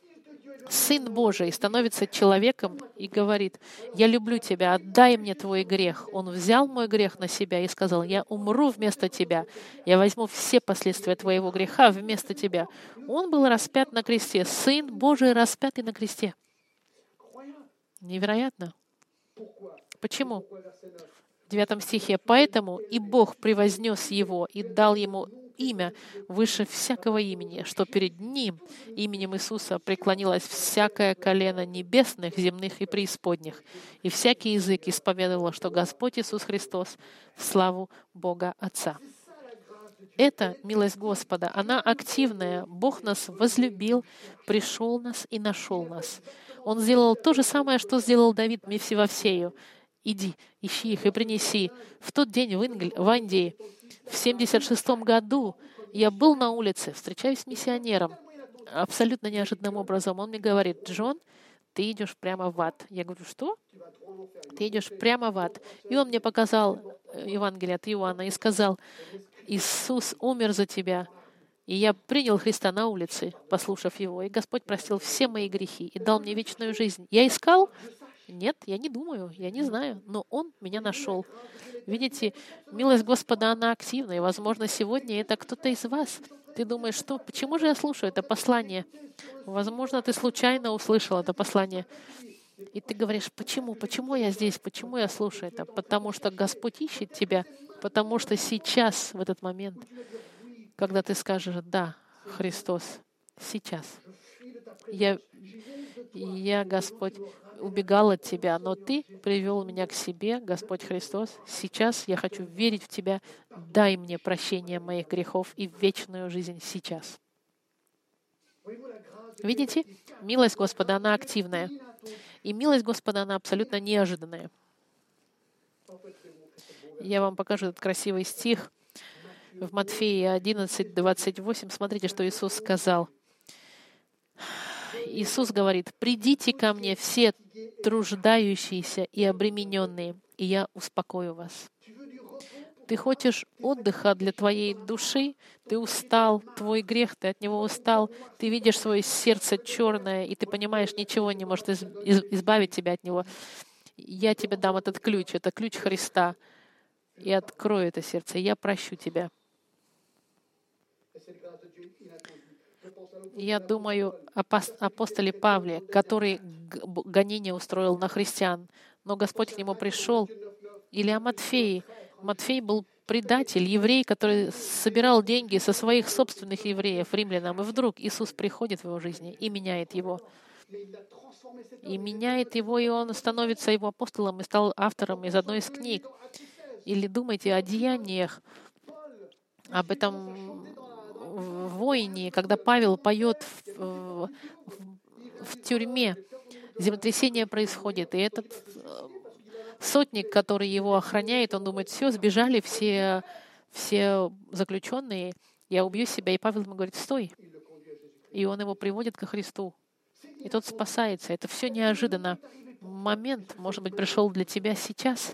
Сын Божий становится человеком и говорит: «Я люблю тебя, отдай мне твой грех». Он взял мой грех на себя и сказал: «Я умру вместо тебя, я возьму все последствия твоего греха вместо тебя». Он был распят на кресте, Сын Божий распятый на кресте. Невероятно. Почему? В девятом стихе: «Поэтому и Бог превознес его и дал ему имя выше всякого имени, что перед Ним, именем Иисуса, преклонилось всякое колено небесных, земных и преисподних, и всякий язык исповедовал, что Господь Иисус Христос в славу Бога Отца». Это милость Господа, она активная. Бог нас возлюбил, пришел нас и нашел нас. Он сделал то же самое, что сделал Давид Мефсивофсею. «Иди, ищи их и принеси». В тот день в, Ингл... в Индии, в семьдесят шестом году, я был на улице, встречаюсь с миссионером. Абсолютно неожиданным образом. Он мне говорит: «Джон, ты идешь прямо в ад». Я говорю: «Что?» «Ты идешь прямо в ад». И он мне показал Евангелие от Иоанна и сказал: «Иисус умер за тебя». И я принял Христа на улице, послушав Его. И Господь простил все мои грехи и дал мне вечную жизнь. Я искал? Нет, я не думаю, я не знаю, но Он меня нашел. Видите, милость Господа, она активна, и, возможно, сегодня это кто-то из вас. Ты думаешь, что, почему же я слушаю это послание? Возможно, ты случайно услышал это послание. И ты говоришь: почему, почему я здесь, почему я слушаю это? Потому что Господь ищет тебя, потому что сейчас, в этот момент, когда ты скажешь: «Да, Христос, сейчас. Я, я, Господь, убегал от Тебя, но Ты привел меня к себе, Господь Христос. Сейчас я хочу верить в Тебя. Дай мне прощение моих грехов и вечную жизнь сейчас». Видите? Милость Господа, она активная. И милость Господа, она абсолютно неожиданная. Я вам покажу этот красивый стих. В Матфея одиннадцать, двадцать восемь. Смотрите, что Иисус сказал. Иисус говорит: «Придите ко мне все труждающиеся и обремененные, и я успокою вас». Ты хочешь отдыха для твоей души? Ты устал, твой грех, ты от него устал, ты видишь свое сердце черное, и ты понимаешь, ничего не может избавить тебя от него. Я тебе дам этот ключ, это ключ Христа, и открою это сердце, и я прощу тебя. Я думаю о апостоле Павле, который гонение устроил на христиан, но Господь к нему пришел. Или о Матфее. Матфей был предатель, еврей, который собирал деньги со своих собственных евреев, римлянам, и вдруг Иисус приходит в его жизни и меняет его. И меняет его, и он становится его апостолом и стал автором из одной из книг. Или думайте о деяниях, об этом воине, когда Павел поет в, в, в тюрьме, землетрясение происходит, и этот сотник, который его охраняет, он думает, все, сбежали все, все заключенные, я убью себя. И Павел ему говорит, стой. И он его приводит ко Христу. И тот спасается. Это все неожиданно. Момент, может быть, пришел для тебя сейчас.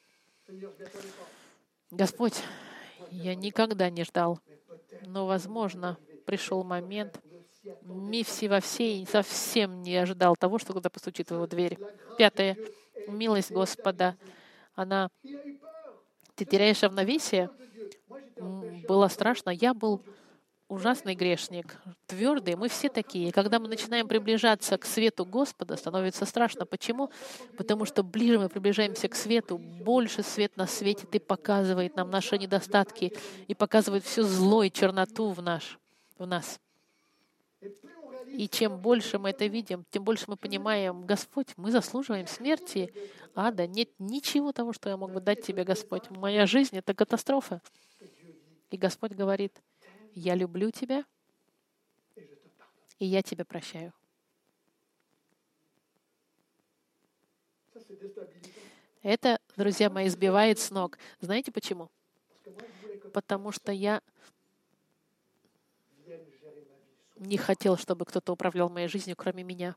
Господь, я никогда не ждал, но, возможно, пришел момент, Мифси во всей совсем не ожидал того, что когда постучит в его дверь. Пятое. Милость Господа. Она... Ты теряешь равновесие? Было страшно. Я был ужасный грешник, твердый. Мы все такие. Когда мы начинаем приближаться к свету Господа, становится страшно. Почему? Потому что ближе мы приближаемся к свету, больше свет нас светит и показывает нам наши недостатки, и показывает всю зло и черноту в, наш, в нас. И чем больше мы это видим, тем больше мы понимаем, Господь, мы заслуживаем смерти, ада. Нет ничего того, что я мог бы дать тебе, Господь. Моя жизнь — это катастрофа. И Господь говорит, я люблю тебя, и я тебя прощаю. Это, друзья мои, сбивает с ног. Знаете почему? Потому что я не хотел, чтобы кто-то управлял моей жизнью, кроме меня.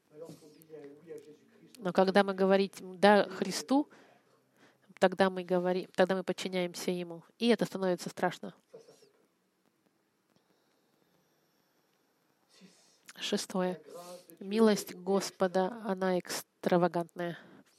Но когда мы говорим «да» Христу, тогда мы говорим, тогда мы подчиняемся Ему. И это становится страшно. Шестое. Милость Господа, она экстравагантная.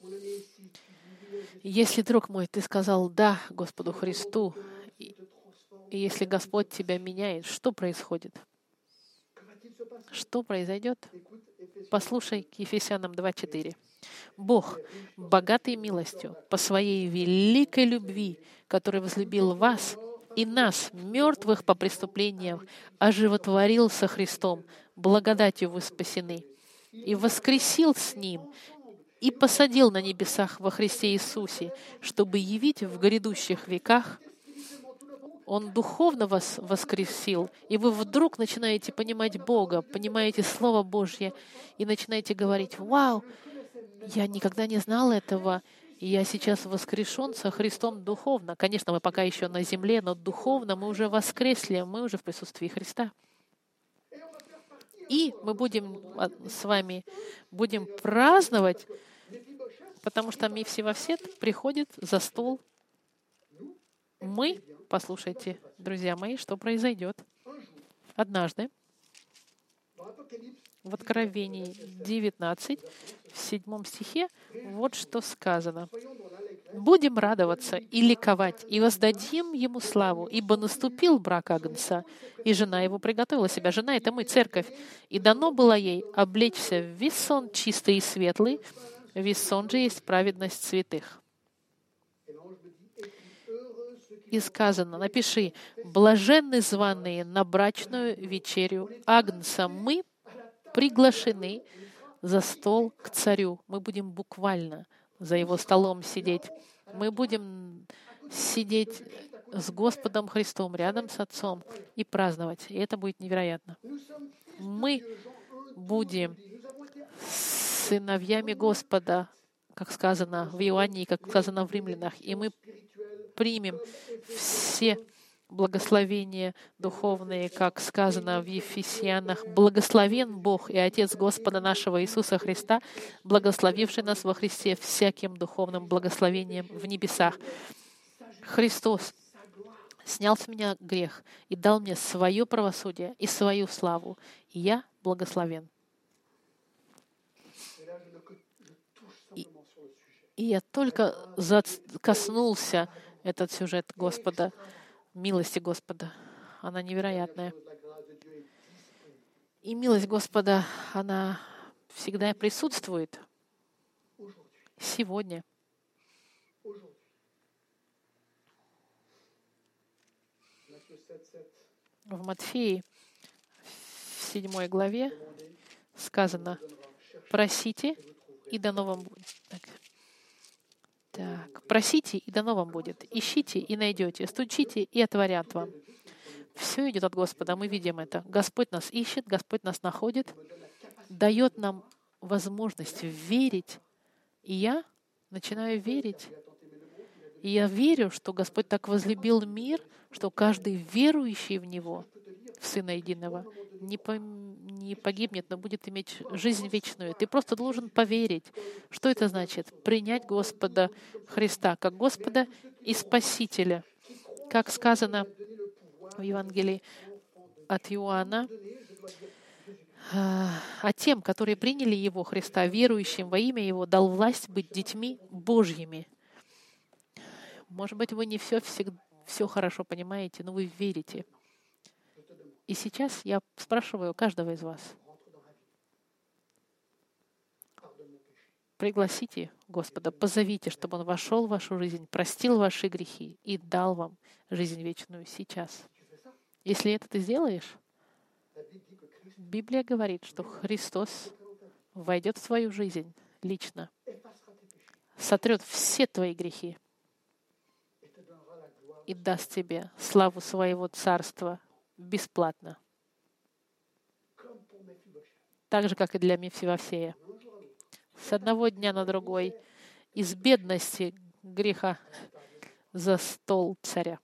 Если, друг мой, ты сказал «да» Господу Христу, и если Господь тебя меняет, что происходит? Что произойдет? Послушай к Ефесянам два четыре. «Бог, богатый милостью, по своей великой любви, который возлюбил вас и нас, мертвых по преступлениям, оживотворил со Христом, благодатью вы спасены, и воскресил с Ним, и посадил на небесах во Христе Иисусе, чтобы явить в грядущих веках». Он духовно вас воскресил, и вы вдруг начинаете понимать Бога, понимаете Слово Божье, и начинаете говорить, «Вау, я никогда не знал этого, и я сейчас воскрешен со Христом духовно». Конечно, мы пока еще на земле, но духовно мы уже воскресли, мы уже в присутствии Христа. И мы будем с вами будем праздновать, потому что Мефсибосет приходит за стол. Мы, послушайте, друзья мои, что произойдет. Однажды в Откровении девятнадцать, в седьмом стихе, вот что сказано. «Будем радоваться и ликовать, и воздадим Ему славу, ибо наступил брак Агнца, и жена Его приготовила себя». Жена — это мы, церковь. «И дано было ей облечься в вессон чистый и светлый, вессон же есть праведность святых». И сказано, напиши, «Блаженны званые на брачную вечерю Агнца». Мы приглашены за стол к царю. Мы будем буквально за его столом сидеть. Мы будем сидеть с Господом Христом, рядом с Отцом, и праздновать. И это будет невероятно. Мы будем сыновьями Господа, как сказано в Иоанне, как сказано в Римлянах, и мы примем все благословения духовные, как сказано в Ефесянах. «Благословен Бог и Отец Господа нашего Иисуса Христа, благословивший нас во Христе всяким духовным благословением в небесах». Христос снял с меня грех и дал мне свое правосудие и свою славу, и я благословен. И, и я только коснулся этот сюжет Господа, милости Господа. Она невероятная. И милость Господа, она всегда присутствует. Сегодня. В Матфеи, в седьмой главе, сказано: «Просите, и дано вам будет». Так. Так. «Просите, и дано вам будет. Ищите, и найдете. Стучите, и отворят вам». Все идет от Господа, мы видим это. Господь нас ищет, Господь нас находит, дает нам возможность верить. И я начинаю верить. И я верю, что Господь так возлюбил мир, что каждый верующий в Него, в Сына Единого, не, по, не погибнет, но будет иметь жизнь вечную. Ты просто должен поверить. Что это значит? Принять Господа Христа как Господа и Спасителя. Как сказано в Евангелии от Иоанна, а тем, которые приняли Его, Христа, верующим во имя Его, дал власть быть детьми Божьими. Может быть, вы не все, всегда, все хорошо понимаете, но вы верите. И сейчас я спрашиваю каждого из вас. Пригласите Господа, позовите, чтобы Он вошел в вашу жизнь, простил ваши грехи и дал вам жизнь вечную сейчас. Если это ты сделаешь, Библия говорит, что Христос войдет в твою жизнь лично, сотрет все твои грехи и даст тебе славу своего царства бесплатно. Так же, как и для Мефивосея. С одного дня на другой, из бедности греха за стол царя.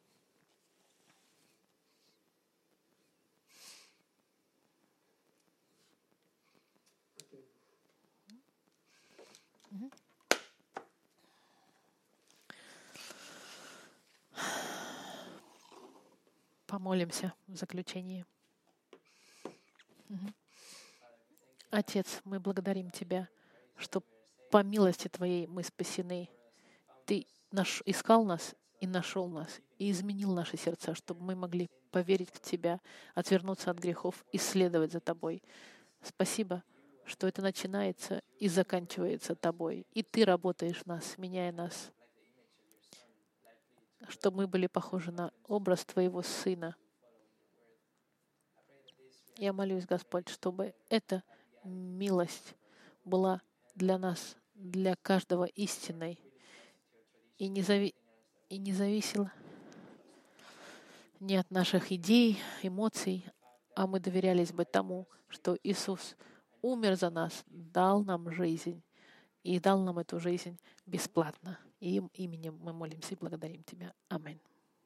Помолимся в заключении. Отец, мы благодарим Тебя, что по милости Твоей мы спасены. Ты наш, искал нас и нашел нас, и изменил наши сердца, чтобы мы могли поверить в Тебя, отвернуться от грехов и следовать за Тобой. Спасибо, что это начинается и заканчивается Тобой, и Ты работаешь в нас, меняя нас, чтобы мы были похожи на образ Твоего Сына. Я молюсь, Господь, чтобы эта милость была для нас, для каждого истинной, и не, зави... и не зависела не от наших идей, эмоций, а мы доверялись бы тому, что Иисус умер за нас, дал нам жизнь, и дал нам эту жизнь бесплатно. И им именем мы молимся и благодарим Тебя. Аминь.